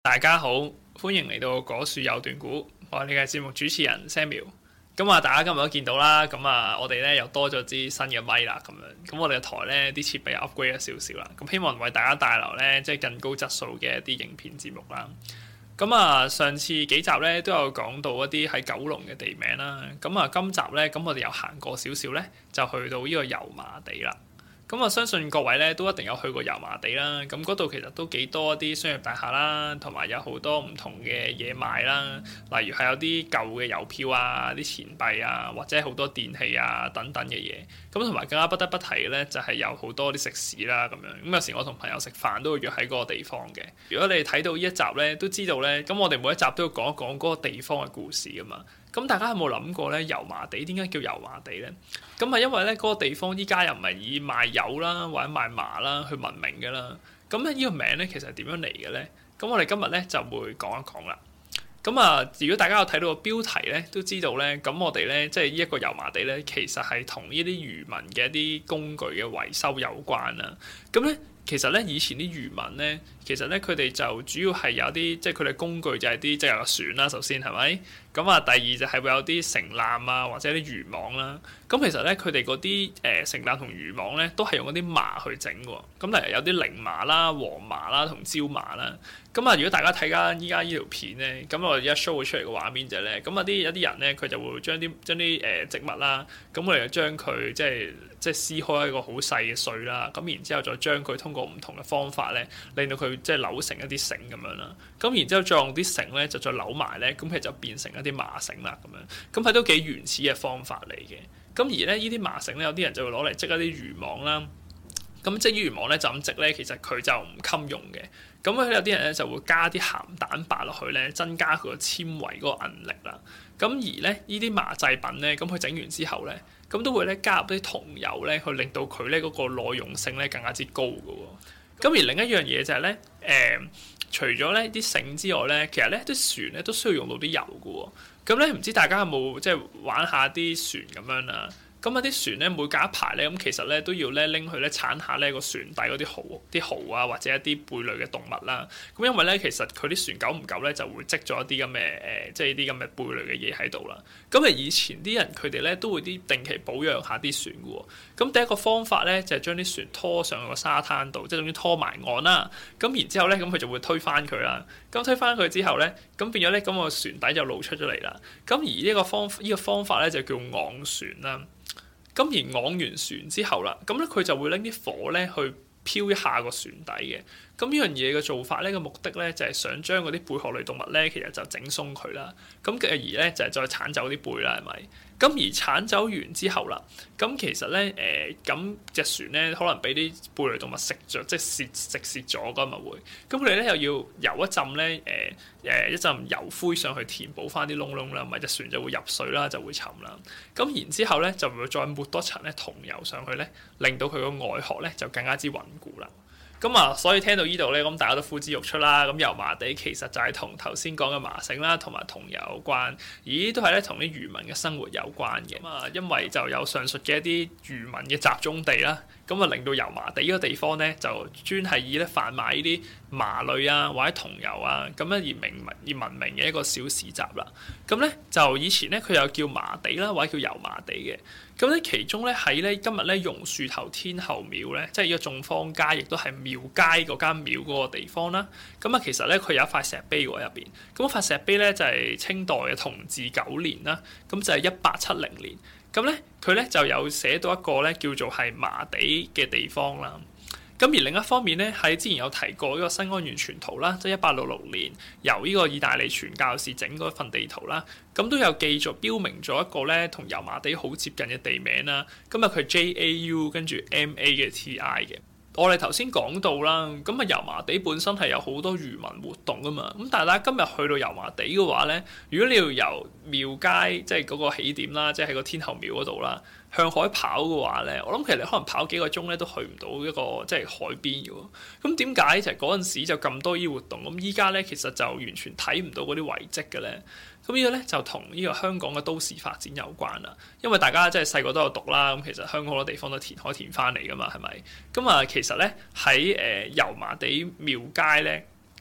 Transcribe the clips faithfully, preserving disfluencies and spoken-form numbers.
大家好，歡迎嚟到果樹有段古，我係你嘅節目主持人 Samuel。咁啊，大家今日都見到啦，咁啊，我哋咧又多咗支新嘅咪啦，咁樣，咁我哋嘅台咧啲設備又 upgrade 咗少少啦，咁希望為大家帶來咧即係更高質素嘅一啲影片節目啦。咁啊，上次幾集咧都有講到一啲喺九龍嘅地名啦，咁啊，今集咧咁我哋又行過少少咧，就去到呢個油麻地啦。咁我相信各位咧都一定有去過油麻地啦，咁嗰度其實都幾多啲商業大廈啦，同埋有好多唔同嘅嘢賣啦，例如係有啲舊嘅郵票啊、啲錢幣啊，或者好多電器啊等等嘅嘢。咁同埋更加不得不提嘅咧，就係有好多啲食肆啦咁樣。咁有時我同朋友食飯都會約喺嗰個地方嘅。如果你睇到呢一集咧，都知道咧，咁我哋每一集都要講一講嗰個地方嘅故事噶嘛。咁大家有冇諗過咧？油麻地點解叫油麻地咧？咁係因為咧嗰個地方依家又唔係以賣油啦或者賣麻啦去聞名嘅啦。咁咧呢個名咧其實係點樣嚟嘅咧？咁我哋今日咧就會講一講啦。咁啊，如果大家有睇到個標題咧，都知道咧，咁我哋咧即係呢一個油麻地咧，其實係同呢啲漁民嘅一啲工具嘅維修有關啦。咁咧。其實咧，以前啲漁民咧，其實咧佢哋就主要係有啲，即係佢哋工具就係啲即係有個船啦，首先係咪？咁啊，第二就係會有啲繩纜啊，或者啲漁網啦。咁其實咧，佢哋嗰啲誒繩纜同漁網咧，都係用嗰啲麻去整嘅。咁例如有啲菱麻啦、黃麻啦同椒麻啦。咁啊，如果大家睇緊依家呢條片咧，咁我而家 show 出嚟嘅畫面就係咧，咁啊啲有啲人咧，佢就會將啲將啲誒植物啦，咁我哋就將佢即係即係撕開一個好細嘅碎啦，咁然之後再將佢通過唔同嘅方法咧，令到佢即係扭成一啲繩咁樣啦。咁然之後再用啲繩咧，就再扭埋咧，咁佢就變成一啲麻繩啦咁樣。咁係都幾原始嘅方法嚟嘅。咁而咧，呢啲麻繩咧，有啲人就會攞嚟織一啲漁網啦。咁織漁網咧就咁織咧，其實佢就唔襟用嘅。咁咧有啲人咧就會加啲鹹蛋白落去咧，增加佢個纖維嗰個韌力啦。咁而咧呢啲麻製品咧，咁佢整完之後咧，咁都會咧加入啲桐油咧，去令到佢咧嗰個耐用性咧更加之高嘅喎。咁而另一樣嘢就係咧，誒除咗咧啲繩之外咧，其實咧啲船咧都需要用到啲油嘅喎。咁咧唔知大家有冇即係玩下啲船咁樣啦？咁啊啲船咧每隔一排咧，咁其實咧都要咧拎去咧鏟下咧個船底嗰啲蠔、啲蠔啊，或者一啲貝類嘅動物啦。咁因為咧其實佢啲船久唔久咧就會積咗一啲咁嘅誒，即係啲咁嘅貝類嘅嘢喺度啦。咁啊以前啲人佢哋咧都會啲定期保養下啲船嘅喎。咁第一個方法咧就係將啲船拖上個沙灘度，即係總之拖埋岸啦。咁然之後咧咁佢就會推翻佢啦。咁推翻佢之後咧，咁變咗咧咁個船底就露出咗嚟啦。咁而呢個方呢、呢個方法咧就叫昂船啦。咁而昂完船之後啦，咁咧佢就會拎啲火咧去漂一下個船底嘅。咁呢樣嘢嘅做法咧，個目的咧就係想將嗰啲貝殼類動物咧，其實就整鬆佢啦。咁繼而咧就係再剷走啲貝啦，係咪？咁而剷走完之後啦，咁其實咧誒，咁、呃、隻船咧可能俾啲貝類動物食咗，即係蝕食蝕咗㗎嘛會。咁佢哋咧又要游一浸咧誒誒一陣油灰上去填補翻啲窿窿啦，咪隻船就會入水啦，就會沉啦。咁然之後咧就會再抹多層咧桐油上去咧，令到佢個外殼咧就更加之穩固啦。咁啊，所以聽到呢度咧，咁大家都呼之欲出啦。咁油麻地其實就係同頭先講嘅麻繩啦，同埋桐油有關，咦，都係咧同啲漁民嘅生活有關嘅。咁啊，因為就有上述嘅一啲漁民嘅集中地啦，咁啊令到油麻地呢個地方咧就專係以咧販賣呢啲麻類啊或者桐油啊咁樣而名而聞名嘅一個小市集啦。咁咧就以前咧佢又叫麻地啦，或者叫油麻地嘅。咁咧其中咧喺咧今日咧榕樹頭天后廟咧，即係呢個眾坊街，亦都係廟街嗰間廟嗰個地方啦。咁啊，其實咧佢有一塊石碑喎入邊。咁塊石碑咧就係清代嘅同治九年啦。咁就係一八七零年。咁咧佢咧就有寫到一個咧叫做係麻地嘅地方啦。咁而另一方面咧，喺之前有提過呢個新安縣全圖啦，即係一八六六年由呢個意大利傳教士整嗰份地圖啦，咁都有記載標明咗一個咧同油麻地好接近嘅地名啦。咁啊佢 J A U 跟住 M A 嘅 T I 嘅。我哋頭先講到啦，咁啊油麻地本身係有好多漁民活動噶嘛，咁但係大家今日去到油麻地嘅話咧，如果你要由廟街即係嗰個起點啦，即係喺個天后廟嗰度啦，向海跑嘅話咧，我諗其實你可能跑幾個鐘咧都去唔到一個即係海邊嘅喎。咁點解就係嗰陣時就咁多依活動，咁依家咧其實就完全睇唔到嗰啲遺跡嘅咧？咁呢個咧就同呢個香港嘅都市發展有關啦。因為大家即係細個都有讀啦，咁其實香港好多地方都填海填翻嚟噶嘛，係咪？咁啊，其實咧喺誒油麻地廟街咧，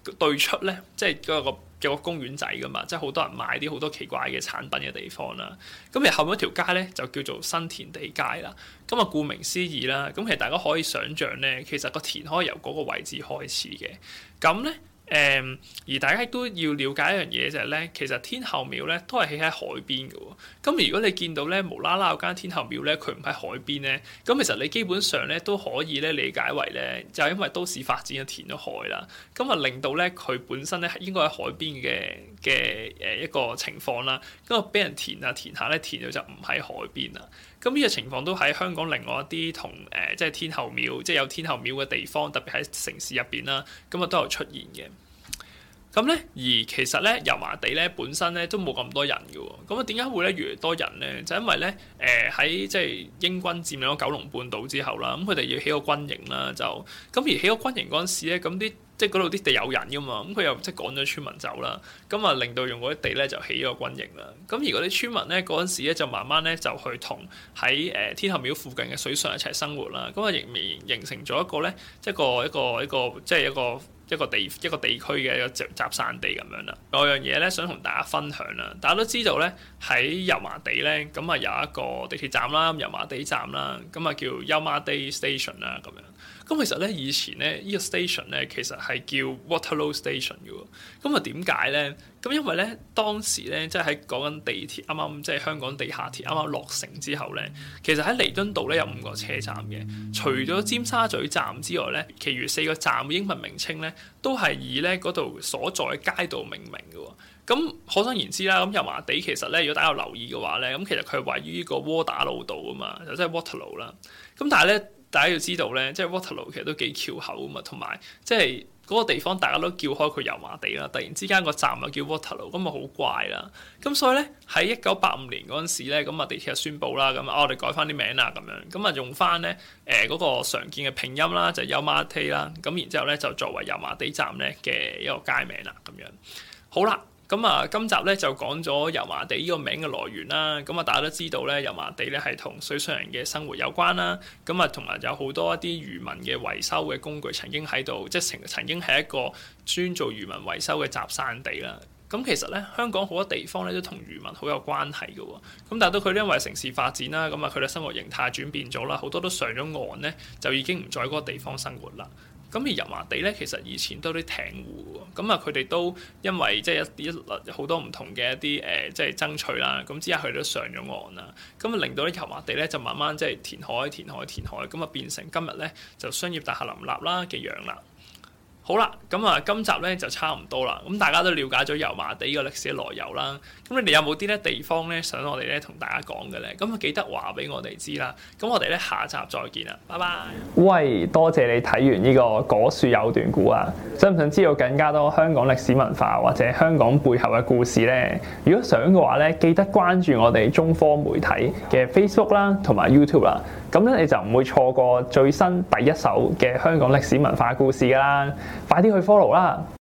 對出咧，即係嗰個有個公園仔噶嘛，即係好多人買啲好多奇怪嘅產品嘅地方啦。咁而後面一條街咧就叫做新填地街啦。咁啊，顧名思義啦，咁其實大家可以想像咧，其實個田可以由嗰個位置開始嘅。咁咧。誒、嗯，而大家都要了解一樣嘢就係咧，其實天后廟咧都係起喺海邊嘅喎。咁如果你見到咧無啦啦有間天后廟咧，佢唔喺海邊咧，咁其實你基本上咧都可以咧理解為咧，就係因為都市發展嘅填咗海啦，咁啊令到咧佢本身咧應該喺海邊嘅嘅誒一個情況啦，咁啊俾人填啊填下咧填到就唔喺海邊啦。咁呢個情況都喺香港另外一啲同誒即係天后廟，即係有天后廟嘅地方，特別喺城市入邊啦，咁啊都有出現嘅。咁咧，而其實咧油麻地咧本身咧都冇咁多人嘅喎。咁啊點解會咧越嚟越多人咧？就因為咧誒喺即係英軍佔領咗九龍半島之後啦，咁佢哋要起個軍營啦，就咁而起個軍營嗰陣時咧，咁啲即係嗰度啲地有人噶嘛，咁佢又即係趕咗村民走啦，咁啊令到用嗰啲地咧就起咗個軍營啦。咁而嗰啲村民咧嗰陣時咧就慢慢咧就去同喺誒天后廟附近嘅水上一齊生活啦。咁啊形形成咗一個咧即係一個一個一個即係一個。一個地一個地區嘅一個集集散地咁樣啦。有樣嘢咧想同大家分享啦。大家都知道咧喺油麻地咧，咁啊有一個地鐵站啦，油麻地站啦，咁啊叫油麻地 Station 啦咁樣。咁其實咧以前咧呢個 station 咧其實係叫 Waterloo Station 嘅喎。咁啊點解咧？咁因為咧當時咧即係喺講緊地鐵啱啱即係香港地下鐵啱啱落成之後咧，其實喺彌敦道咧有五個車站嘅。除咗尖沙咀站之外咧，其餘四個站嘅英文名稱咧都係以咧嗰度所在街道命名嘅喎。咁可想而知啦，咁油麻地其實咧，如果大家有留意嘅話咧，咁其實佢係位於呢個窩打老道啊嘛，就即係 Waterloo 啦。咁但係咧，大家要知道咧，即係 Waterloo 其實都幾翹口啊嘛，同埋即係嗰個地方大家都叫開佢油麻地啦，突然之間個站又叫 Waterloo，咁啊好怪啦。咁所以咧喺一九八五年嗰陣時咧，咁啊地鐵就宣布啦，咁啊我哋改翻啲名啦，咁樣咁啊用翻咧誒嗰個常見嘅拼音啦，就係油麻地啦，咁然之後咧就作為油麻地站咧嘅一個街名啦，咁樣好啦。咁啊，今集咧就講咗油麻地呢個名嘅來源啦。咁啊，大家都知道咧，油麻地咧係同水上人嘅生活有關啦。咁啊，同埋有好多一啲漁民嘅維修嘅工具曾經喺度，即係曾曾經係一個專做漁民維修嘅集散地啦。咁其實咧，香港好多地方咧都同漁民好有關係嘅喎。咁但係到佢因為城市發展啦，咁啊佢哋生活形態轉變咗啦，好多都上咗岸咧，就已經唔在嗰個地方生活啦。咁而油麻地咧，其實以前都有啲艇戶喎，咁啊佢哋都因為即係一啲好多唔同嘅一啲誒、呃，即係爭取啦，咁之後佢哋都上咗岸啦，咁啊令到咧油麻地咧就慢慢即係填海、填海、填海，咁啊變成今日咧就商業大廈林立啦嘅樣啦。好啦，咁啊，今集咧就差唔多啦。咁大家都了解咗油麻地個歷史嘅來由啦。咁你哋有冇啲咧地方咧想我哋咧同大家講嘅咧？咁啊記得話俾我哋知啦。咁我哋咧下集再見啦，拜拜。喂，多謝你睇完呢個果樹有段古啊！想唔想知道更加多香港歷史文化或者香港背後嘅故事咧？如果想嘅話咧，記得關注我哋中科媒體嘅 Facebook 啦，同埋 YouTube 啦。咁咧你就唔會錯過最新第一手嘅香港歷史文化故事㗎啦！快啲去 follow 啦！